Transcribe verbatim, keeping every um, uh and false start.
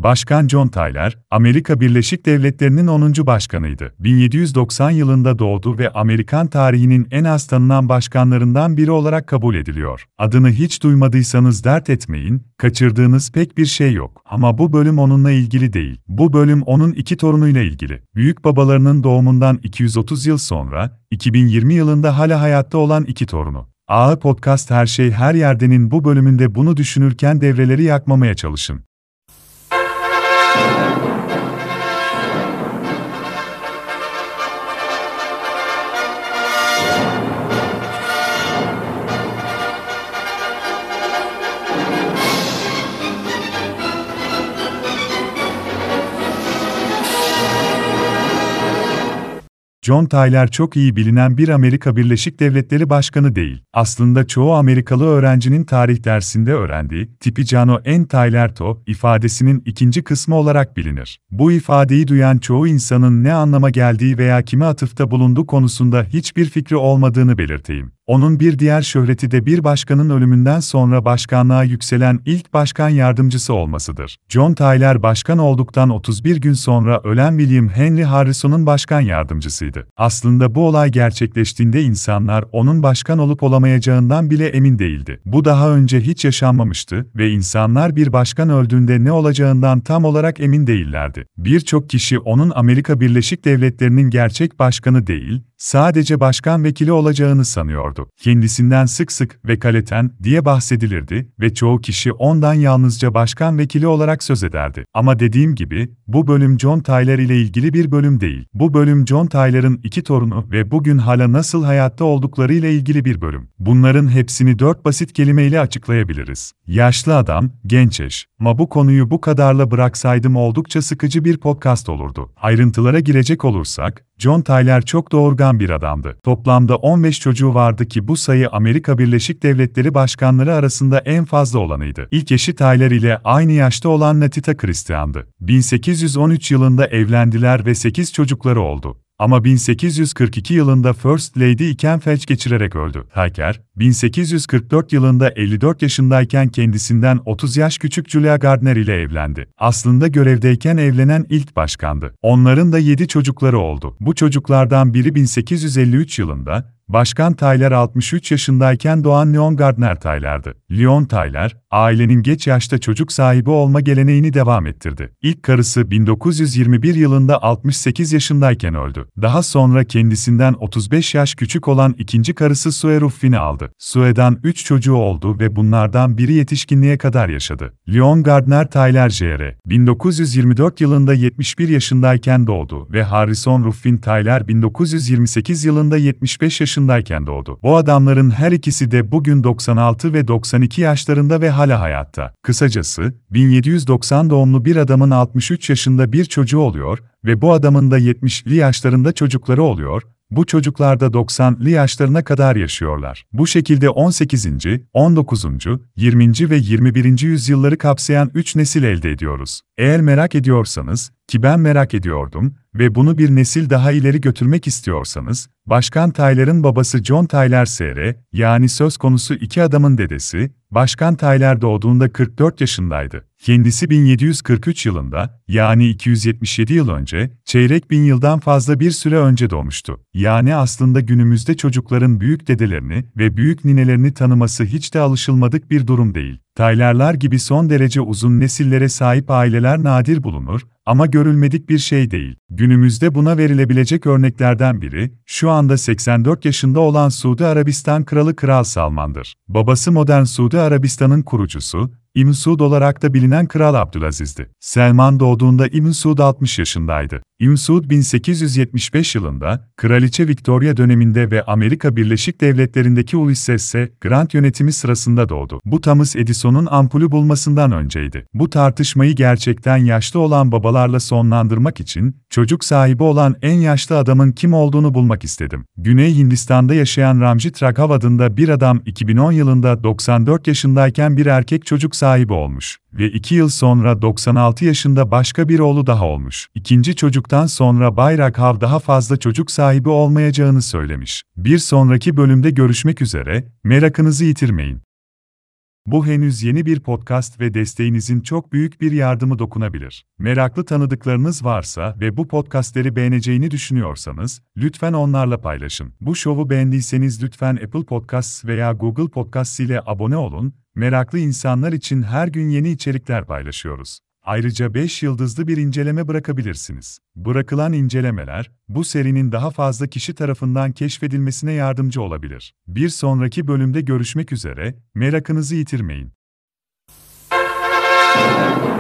Başkan John Tyler, Amerika Birleşik Devletleri'nin onuncu başkanıydı. bin yedi yüz doksan yılında doğdu ve Amerikan tarihinin en az tanınan başkanlarından biri olarak kabul ediliyor. Adını hiç duymadıysanız dert etmeyin, kaçırdığınız pek bir şey yok. Ama bu bölüm onunla ilgili değil. Bu bölüm onun iki torunuyla ilgili. Büyük babalarının doğumundan iki yüz otuz yıl sonra, iki bin yirmi yılında hala hayatta olan iki torunu. A Podcast Her Şey Her Yerde'nin bu bölümünde bunu düşünürken devreleri yakmamaya çalışın. John Tyler çok iyi bilinen bir Amerika Birleşik Devletleri Başkanı değil. Aslında çoğu Amerikalı öğrencinin tarih dersinde öğrendiği Tipicano en Tyler to ifadesinin ikinci kısmı olarak bilinir. Bu ifadeyi duyan çoğu insanın ne anlama geldiği veya kime atıfta bulunduğu konusunda hiçbir fikri olmadığını belirteyim. Onun bir diğer şöhreti de bir başkanın ölümünden sonra başkanlığa yükselen ilk başkan yardımcısı olmasıdır. John Tyler başkan olduktan otuz bir gün sonra ölen William Henry Harrison'un başkan yardımcısıydı. Aslında bu olay gerçekleştiğinde insanlar onun başkan olup olamayacağından bile emin değildi. Bu daha önce hiç yaşanmamıştı ve insanlar bir başkan öldüğünde ne olacağından tam olarak emin değillerdi. Birçok kişi onun Amerika Birleşik Devletleri'nin gerçek başkanı değil, sadece başkan vekili olacağını sanıyordu. Kendisinden sık sık vekaleten diye bahsedilirdi ve çoğu kişi ondan yalnızca başkan vekili olarak söz ederdi. Ama dediğim gibi, bu bölüm John Tyler ile ilgili bir bölüm değil. Bu bölüm John Tyler'ın iki torunu ve bugün hala nasıl hayatta oldukları ile ilgili bir bölüm. Bunların hepsini dört basit kelimeyle açıklayabiliriz. Yaşlı adam, genç eş. Ama bu konuyu bu kadarla bıraksaydım oldukça sıkıcı bir podcast olurdu. Ayrıntılara girecek olursak, John Tyler çok doğurgan bir adamdı. Toplamda on beş çocuğu vardı ki bu sayı Amerika Birleşik Devletleri başkanları arasında en fazla olanıydı. İlk eşi Tyler ile aynı yaşta olan Natita Christian'dı. bin sekiz yüz on üç yılında evlendiler ve sekiz çocukları oldu. Ama bin sekiz yüz kırk iki yılında First Lady iken felç geçirerek öldü. Tyler, bin sekiz yüz kırk dört yılında elli dört yaşındayken kendisinden otuz yaş küçük Julia Gardner ile evlendi. Aslında görevdeyken evlenen ilk başkandı. Onların da yedi çocukları oldu. Bu çocuklardan biri bin sekiz yüz elli üç yılında, Başkan Tyler altmış üç yaşındayken doğan Leon Gardner Tyler'dı. Leon Tyler, ailenin geç yaşta çocuk sahibi olma geleneğini devam ettirdi. İlk karısı bin dokuz yüz yirmi bir yılında altmış sekiz yaşındayken öldü. Daha sonra kendisinden otuz beş yaş küçük olan ikinci karısı Sue Ruffin'i aldı. Sue'dan üç çocuğu oldu ve bunlardan biri yetişkinliğe kadar yaşadı. Leon Gardner Tyler Jr bin dokuz yüz yirmi dört yılında yetmiş bir yaşındayken doğdu ve Harrison Ruffin Tyler bin dokuz yüz yirmi sekiz yılında yetmiş beş yaşındayken doğdu. Bu adamların her ikisi de bugün doksan altı ve doksan iki yaşlarında ve hala hayatta. Kısacası, bin yedi yüz doksan doğumlu bir adamın altmış üç yaşında bir çocuğu oluyor ve bu adamın da yetmişli yaşlarında çocukları oluyor. Bu çocuklar da doksanlı yaşlarına kadar yaşıyorlar. Bu şekilde on sekizinci, on dokuzuncu, yirminci ve yirmi birinci yüzyılları kapsayan üç nesil elde ediyoruz. Eğer merak ediyorsanız, ki ben merak ediyordum ve bunu bir nesil daha ileri götürmek istiyorsanız, Başkan Tyler'ın babası John Tyler Sr, yani söz konusu iki adamın dedesi, Başkan Tyler doğduğunda kırk dört yaşındaydı. Kendisi bin yedi yüz kırk üç yılında, yani iki yüz yetmiş yedi yıl önce, çeyrek bin yıldan fazla bir süre önce doğmuştu. Yani aslında günümüzde çocukların büyük dedelerini ve büyük ninelerini tanıması hiç de alışılmadık bir durum değil. Tyler'lar gibi son derece uzun nesillere sahip aileler nadir bulunur, ama görülmedik bir şey değil. Günümüzde buna verilebilecek örneklerden biri, şu anda seksen dört yaşında olan Suudi Arabistan Kralı Kral Salman'dır. Babası modern Suudi Arabistan'ın kurucusu, İbn Suud olarak da bilinen Kral Abdülaziz'di. Selman doğduğunda İbn Suud altmış yaşındaydı. İbn Suud bin sekiz yüz yetmiş beş yılında, Kraliçe Victoria döneminde ve Amerika Birleşik Devletleri'ndeki Ulysses S. Grant yönetimi sırasında doğdu. Bu Thomas Edison'un ampulü bulmasından önceydi. Bu tartışmayı gerçekten yaşlı olan babalarla sonlandırmak için, çocuk sahibi olan en yaşlı adamın kim olduğunu bulmak istedim. Güney Hindistan'da yaşayan Ramjit Raghav adında bir adam iki bin on yılında doksan dört yaşındayken bir erkek çocuk sahibi olmuş ve iki yıl sonra doksan altı yaşında başka bir oğlu daha olmuş. İkinci çocuktan sonra Bay Raghav daha fazla çocuk sahibi olmayacağını söylemiş. Bir sonraki bölümde görüşmek üzere, merakınızı yitirmeyin. Bu henüz yeni bir podcast ve desteğinizin çok büyük bir yardımı dokunabilir. Meraklı tanıdıklarınız varsa ve bu podcastleri beğeneceğini düşünüyorsanız, lütfen onlarla paylaşın. Bu şovu beğendiyseniz lütfen Apple Podcasts veya Google Podcasts ile abone olun. Meraklı insanlar için her gün yeni içerikler paylaşıyoruz. Ayrıca beş yıldızlı bir inceleme bırakabilirsiniz. Bırakılan incelemeler, bu serinin daha fazla kişi tarafından keşfedilmesine yardımcı olabilir. Bir sonraki bölümde görüşmek üzere, merakınızı yitirmeyin.